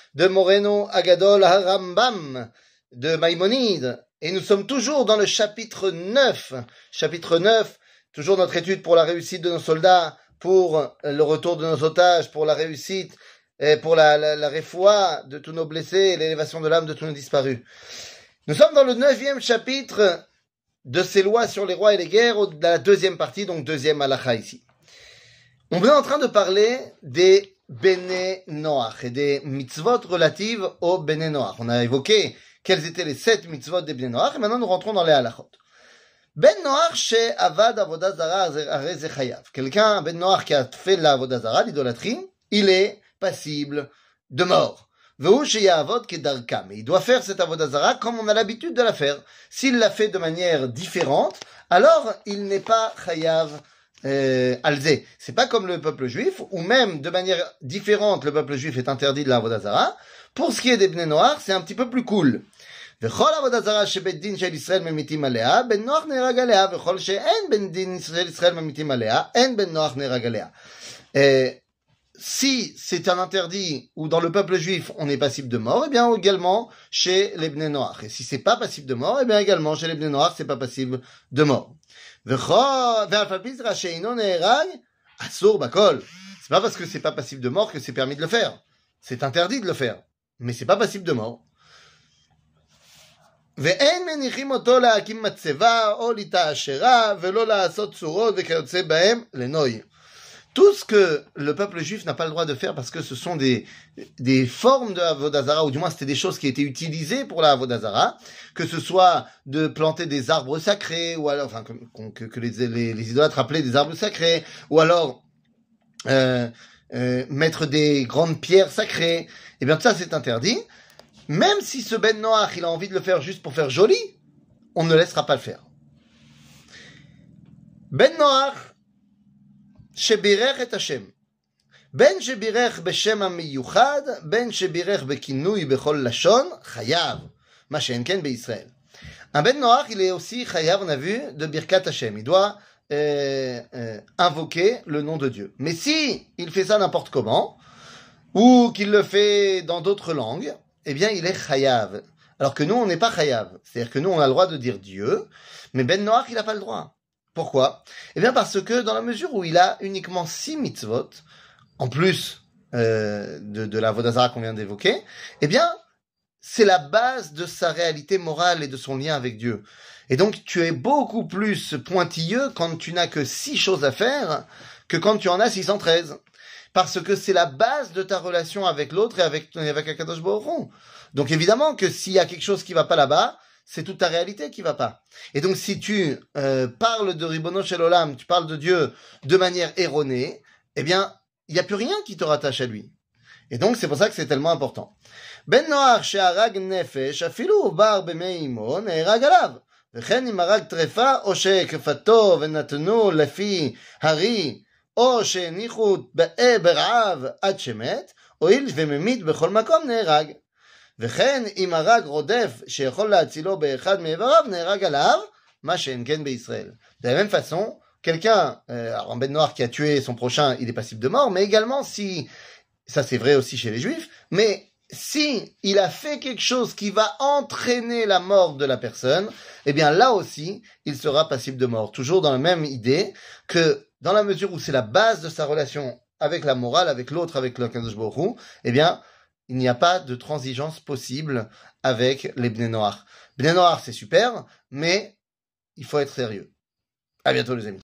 de Moreno Agadol Harambam, de Maïmonide. Et nous sommes toujours dans le chapitre 9. Chapitre 9, toujours notre étude pour la réussite de nos soldats, pour le retour de nos otages, pour la réussite, et pour la réfoua de tous nos blessés et l'élévation de l'âme de tous nos disparus. Nous sommes dans le 9e chapitre de ces lois sur les rois et les guerres, de la deuxième partie, donc deuxième halakha ici. On est en train de parler des Bene Noach et des mitzvot relatives aux Bene Noach. On a évoqué quelles étaient les 7 mitzvot des Bene Noach et maintenant nous rentrons dans les halachot. Ben Noach chez Avad Avodah Zara Arez Chayav. Quelqu'un, Ben Noach, qui a fait la Avodah Zara, l'idolâtrie, il est passible de mort. Vehu sheyavod kedarka. Mais il doit faire cette Avodah Zara comme on a l'habitude de la faire. S'il la fait de manière différente, alors il n'est pas Chayav alzé. C'est pas comme le peuple juif, ou même de manière différente, le peuple juif est interdit de la Avodah Zara. Pour ce qui est des Bnei Noach, c'est un petit peu plus cool. וכל עבודה זרה שבית דין של ישראל ממיתים עליה, בן נוח נהרג עליה, וכל שאין בן דין של ישראל ממיתים עליה, אין בן נוח נהרג עליה. Si c'est un interdit ou dans le peuple juif on est passible de mort, eh bien également chez les Bnei Noach. Et si c'est pas passible de mort, eh bien également chez les Bnei Noach c'est pas passible de mort. ואף על פי זרע שאינו נהרג, אסור בכל. C'est pas parce que c'est pas passible de mort que c'est permis de le faire. C'est interdit de le faire, mais c'est pas passible de mort. ואין מניחים אותו להקים מצבה או לתעשרה ולא לעשות צורות וכיוצא בהם לנוי. Tout ce que le peuple juif n'a pas le droit de faire parce que ce sont des formes de Avodah Zara, ou du moins c'était des choses qui étaient utilisées pour la Avodah Zara, que ce soit de planter des arbres sacrés, ou alors, enfin, que les idolâtres appelaient des arbres sacrés, ou alors mettre des grandes pierres sacrées, et bien tout ça c'est interdit. Même si ce Ben Noach, il a envie de le faire juste pour faire joli, on ne laissera pas le faire. Ben Noach, שברך את השם. בין שברך בשם המיוחד, בין שברך בכינוי בכל לשון, חייב. מה שאין כן בישראל. Un Ben Noach, il est aussi chayav, on a vu, de Birkat Hashem. Il doit invoquer le nom de Dieu. Mais si il fait ça n'importe comment, ou qu'il le fait dans d'autres langues, eh bien il est chayav. Alors que nous, on n'est pas chayav. C'est-à-dire que nous, on a le droit de dire Dieu, mais Ben Noach, il n'a pas le droit. Pourquoi? Eh bien parce que dans la mesure où il a uniquement 6 mitzvot, en plus de la Avodah Zara qu'on vient d'évoquer, eh bien c'est la base de sa réalité morale et de son lien avec Dieu. Et donc tu es beaucoup plus pointilleux quand tu n'as que 6 choses à faire que quand tu en as 613. Parce que c'est la base de ta relation avec l'autre et avec Akadosh Baruch Hu. Donc évidemment que s'il y a quelque chose qui va pas là-bas, c'est toute ta réalité qui va pas. Et donc si tu parles de Ribono Shel Olam, tu parles de Dieu de manière erronée, eh bien, il n'y a plus rien qui te rattache à lui. Et donc c'est pour ça que c'est tellement important. Ben Noach she'arag nefesh, afilu bar b'mei imo, ne'erag alav. וכן אם הרג טרפה, או שכפתו ונתנו לפי הרי, או שהניחו ברעב עד שמת, הואיל וממית בכל מקום נהרג. וכן אם הרג רודף שיכול להצילו באחד מאיבריו, נהרג עליו, מה שאין כן בישראל. De la même façon, quelqu'un, alors un Ben Noach qui a tué son prochain, il est passible de mort, mais également si, ça c'est vrai aussi chez les Juifs, mais si il a fait quelque chose qui va entraîner la mort de la personne, eh bien là aussi, il sera passible de mort. Toujours dans la même idée que dans la mesure où c'est la base de sa relation avec la morale, avec l'autre, avec le Kadosh Baruch Hu, eh bien, il n'y a pas de transigence possible avec les Bnei Noach. Bnei Noach, c'est super, mais il faut être sérieux. À bientôt les amis.